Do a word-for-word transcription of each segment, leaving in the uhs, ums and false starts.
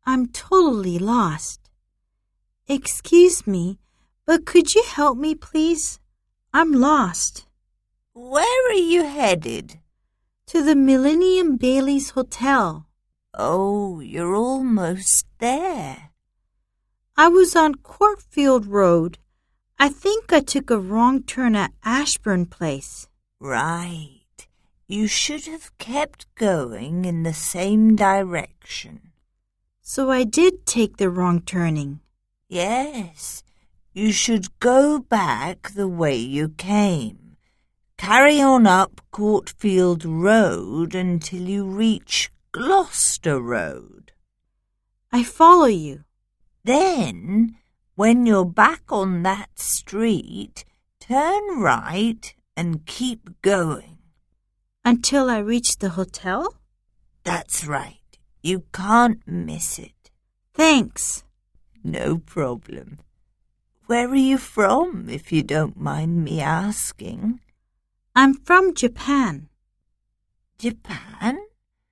I'm totally lost. Excuse me, but could you help me, please? I'm lost. Where are you headed? To the Millennium Bailey's Hotel. Oh, you're almost there. I was on Courtfield Road. I think I took a wrong turn at Ashburn Place. Right. You should have kept going in the same direction. So I did take the wrong turning. Yes. You should go back the way you came. Carry on up Courtfield Road until you reach Gloucester Road. I follow you. Then, when you're back on that street, turn right and keep going. Until I reach the hotel? That's right. You can't miss it. Thanks. No problem. Where are you from, if you don't mind me asking? I'm from Japan. Japan?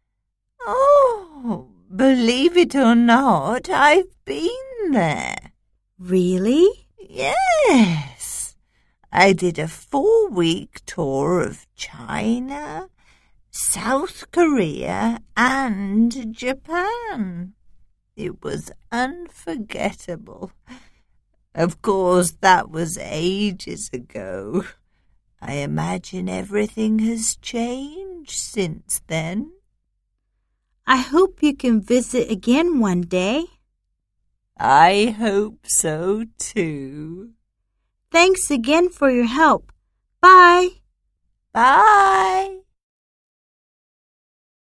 Oh, believe it or not, I've been there. Really? Yes. I did a four-week tour of China, South Korea, and Japan. It was unforgettable. Of course, that was ages ago. I imagine everything has changed since then. I hope you can visit again one day. I hope so, too. Thanks again for your help. Bye. Bye.